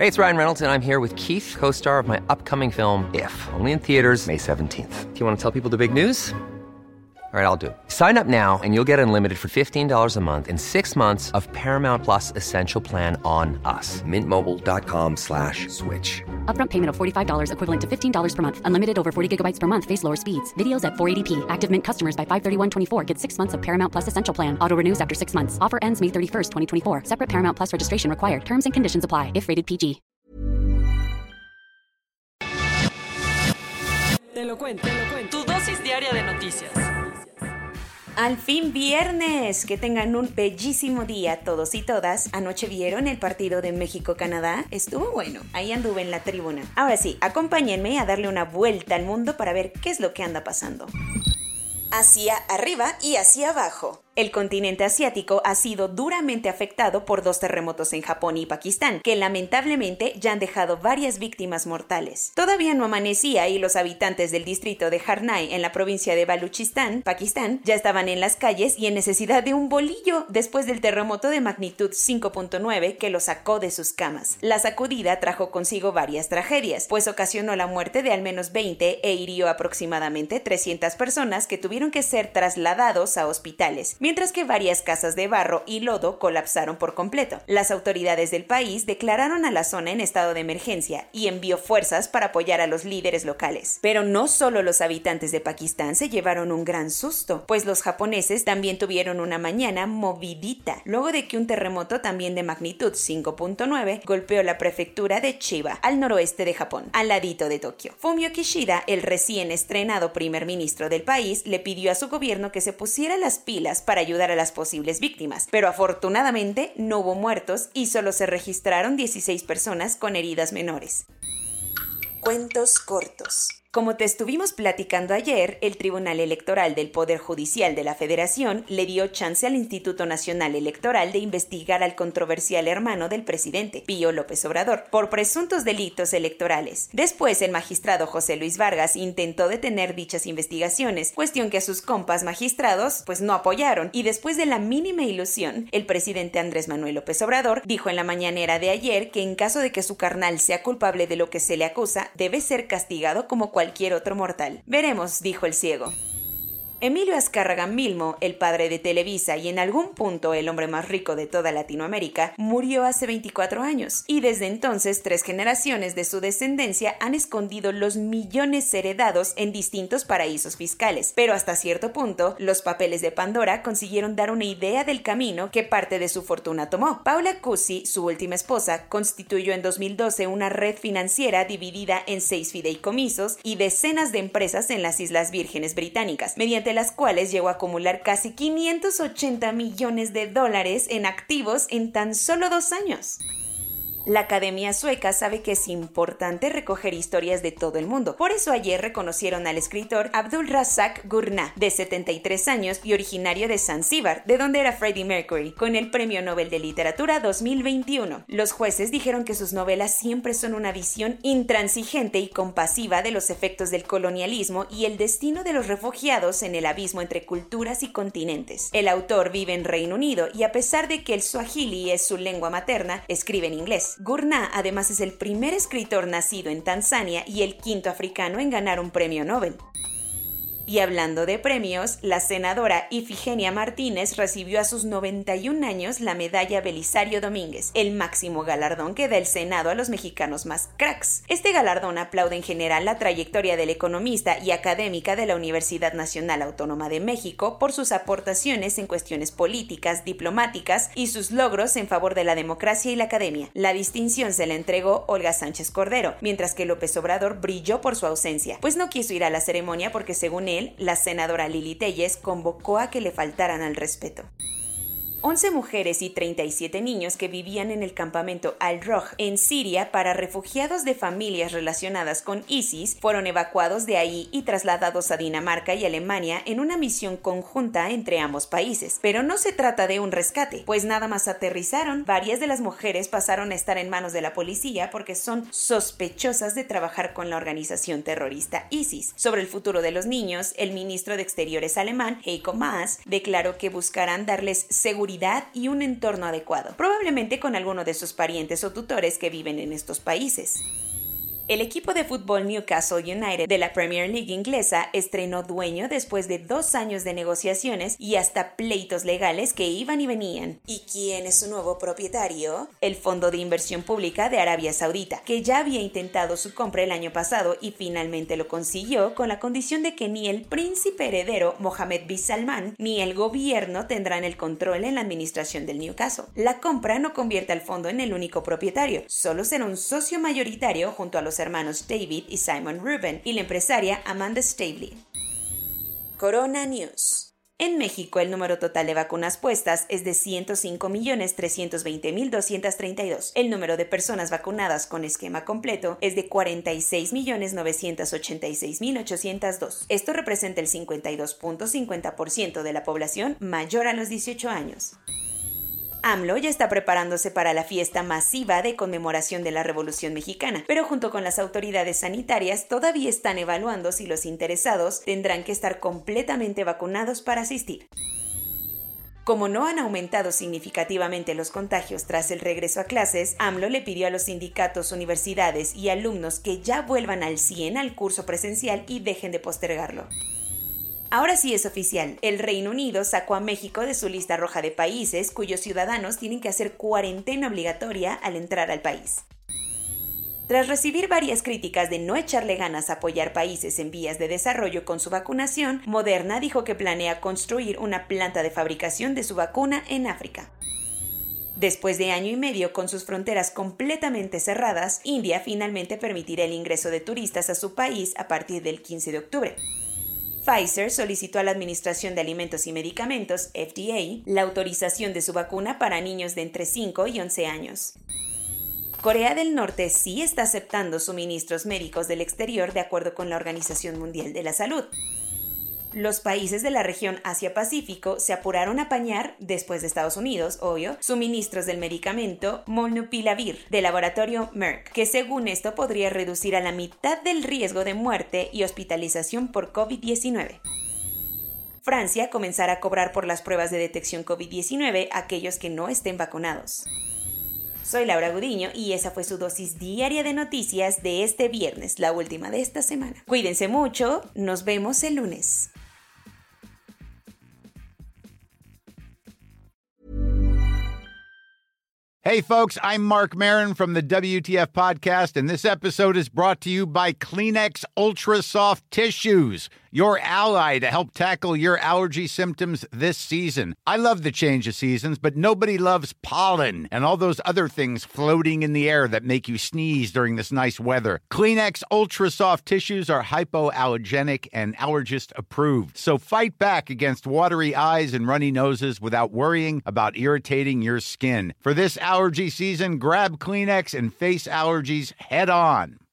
Hey, it's Ryan Reynolds, and I'm here with Keith, co-star of my upcoming film, If, only in theaters May 17th. Do you want to tell people the big news? All right, I'll do it. Sign up now and you'll get unlimited for $15 a month and 6 months of Paramount Plus Essential Plan on us. MintMobile.com/switch. Upfront payment of $45 equivalent to $15 per month. Unlimited over 40 gigabytes per month. Face lower speeds. Videos at 480p. Active Mint customers by 531.24 get 6 months of Paramount Plus Essential Plan. Auto renews after 6 months. Offer ends May 31st, 2024. Separate Paramount Plus registration required. Terms and conditions apply if rated PG. Te lo cuento. Tu dosis diaria de noticias. Al fin viernes, que tengan un bellísimo día todos y todas. Anoche vieron el partido de México-Canadá, estuvo bueno, ahí anduve en la tribuna. Ahora sí, acompáñenme a darle una vuelta al mundo para ver qué es lo que anda pasando. Hacia arriba y hacia abajo. El continente asiático ha sido duramente afectado por 2 terremotos en Japón y Pakistán, que lamentablemente ya han dejado varias víctimas mortales. Todavía no amanecía y los habitantes del distrito de Harnai, en la provincia de Baluchistán, Pakistán, ya estaban en las calles y en necesidad de un bolillo después del terremoto de magnitud 5.9 que los sacó de sus camas. La sacudida trajo consigo varias tragedias, pues ocasionó la muerte de al menos 20 e hirió aproximadamente 300 personas que tuvieron que ser trasladados a hospitales, mientras que varias casas de barro y lodo colapsaron por completo. Las autoridades del país declararon a la zona en estado de emergencia y envió fuerzas para apoyar a los líderes locales. Pero no solo los habitantes de Pakistán se llevaron un gran susto, pues los japoneses también tuvieron una mañana movidita, luego de que un terremoto también de magnitud 5.9 golpeó la prefectura de Chiba, al noroeste de Japón, al ladito de Tokio. Fumio Kishida, el recién estrenado primer ministro del país, le pidió a su gobierno que se pusiera las pilas para ayudar a las posibles víctimas, pero afortunadamente no hubo muertos y solo se registraron 16 personas con heridas menores. Cuentos cortos. Como te estuvimos platicando ayer, el Tribunal Electoral del Poder Judicial de la Federación le dio chance al Instituto Nacional Electoral de investigar al controversial hermano del presidente, Pío López Obrador, por presuntos delitos electorales. Después, el magistrado José Luis Vargas intentó detener dichas investigaciones, cuestión que a sus compas magistrados no apoyaron, y después de la mínima ilusión, el presidente Andrés Manuel López Obrador dijo en la mañanera de ayer que en caso de que su carnal sea culpable de lo que se le acusa, debe ser castigado como cualquier otro mortal. Veremos, dijo el ciego. Emilio Azcárraga Milmo, el padre de Televisa y en algún punto el hombre más rico de toda Latinoamérica, murió hace 24 años, y desde entonces 3 generaciones de su descendencia han escondido los millones heredados en distintos paraísos fiscales, pero hasta cierto punto, los papeles de Pandora consiguieron dar una idea del camino que parte de su fortuna tomó. Paula Cusi, su última esposa, constituyó en 2012 una red financiera dividida en 6 fideicomisos y decenas de empresas en las Islas Vírgenes Británicas, mediante las cuales llegó a acumular casi $580 millones en activos en tan solo 2 años. La Academia Sueca sabe que es importante recoger historias de todo el mundo. Por eso ayer reconocieron al escritor Abdulrazak Gurnah, de 73 años y originario de Zanzíbar, de donde era Freddie Mercury, con el Premio Nobel de Literatura 2021. Los jueces dijeron que sus novelas siempre son una visión intransigente y compasiva de los efectos del colonialismo y el destino de los refugiados en el abismo entre culturas y continentes. El autor vive en Reino Unido y a pesar de que el suajili es su lengua materna, escribe en inglés. Gurnah además es el primer escritor nacido en Tanzania y el 5º africano en ganar un premio Nobel. Y hablando de premios, la senadora Ifigenia Martínez recibió a sus 91 años la medalla Belisario Domínguez, el máximo galardón que da el Senado a los mexicanos más cracks. Este galardón aplaude en general la trayectoria del economista y académica de la Universidad Nacional Autónoma de México por sus aportaciones en cuestiones políticas, diplomáticas y sus logros en favor de la democracia y la academia. La distinción se la entregó Olga Sánchez Cordero, mientras que López Obrador brilló por su ausencia, pues no quiso ir a la ceremonia porque según él, la senadora Lili Telles convocó a que le faltaran al respeto. 11 mujeres y 37 niños que vivían en el campamento Al-Roj en Siria para refugiados de familias relacionadas con ISIS fueron evacuados de ahí y trasladados a Dinamarca y Alemania en una misión conjunta entre ambos países. Pero no se trata de un rescate, pues nada más aterrizaron, varias de las mujeres pasaron a estar en manos de la policía porque son sospechosas de trabajar con la organización terrorista ISIS. Sobre el futuro de los niños, el ministro de Exteriores alemán, Heiko Maas, declaró que buscarán darles seguridad seguridad y un entorno adecuado, probablemente con alguno de sus parientes o tutores que viven en estos países. El equipo de fútbol Newcastle United de la Premier League inglesa estrenó dueño después de 2 años de negociaciones y hasta pleitos legales que iban y venían. ¿Y quién es su nuevo propietario? El Fondo de Inversión Pública de Arabia Saudita, que ya había intentado su compra el año pasado y finalmente lo consiguió con la condición de que ni el príncipe heredero Mohammed bin Salman ni el gobierno tendrán el control en la administración del Newcastle. La compra no convierte al fondo en el único propietario, solo será un socio mayoritario junto a los hermanos David y Simon Rubin y la empresaria Amanda Staveley. Corona News. En México, el número total de vacunas puestas es de 105.320.232. El número de personas vacunadas con esquema completo es de 46.986.802. Esto representa el 52.50% de la población mayor a los 18 años. AMLO ya está preparándose para la fiesta masiva de conmemoración de la Revolución Mexicana, pero junto con las autoridades sanitarias todavía están evaluando si los interesados tendrán que estar completamente vacunados para asistir. Como no han aumentado significativamente los contagios tras el regreso a clases, AMLO le pidió a los sindicatos, universidades y alumnos que ya vuelvan al 100 al curso presencial y dejen de postergarlo. Ahora sí es oficial, el Reino Unido sacó a México de su lista roja de países cuyos ciudadanos tienen que hacer cuarentena obligatoria al entrar al país. Tras recibir varias críticas de no echarle ganas a apoyar países en vías de desarrollo con su vacunación, Moderna dijo que planea construir una planta de fabricación de su vacuna en África. Después de año y medio con sus fronteras completamente cerradas, India finalmente permitirá el ingreso de turistas a su país a partir del 15 de octubre. Pfizer solicitó a la Administración de Alimentos y Medicamentos, FDA, la autorización de su vacuna para niños de entre 5 y 11 años. Corea del Norte sí está aceptando suministros médicos del exterior de acuerdo con la Organización Mundial de la Salud. Los países de la región Asia-Pacífico se apuraron a apañar, después de Estados Unidos, obvio, suministros del medicamento Molnupiravir del laboratorio Merck, que según esto podría reducir a la mitad del riesgo de muerte y hospitalización por COVID-19. Francia comenzará a cobrar por las pruebas de detección COVID-19 a aquellos que no estén vacunados. Soy Laura Gudiño y esa fue su dosis diaria de noticias de este viernes, la última de esta semana. Cuídense mucho, nos vemos el lunes. Hey, folks, I'm Mark Maron from the WTF Podcast, and this episode is brought to you by Kleenex Ultra Soft Tissues, your ally to help tackle your allergy symptoms this season. I love the change of seasons, but nobody loves pollen and all those other things floating in the air that make you sneeze during this nice weather. Kleenex Ultra Soft Tissues are hypoallergenic and allergist approved, so fight back against watery eyes and runny noses without worrying about irritating your skin. For this allergy season, grab Kleenex and face allergies head on.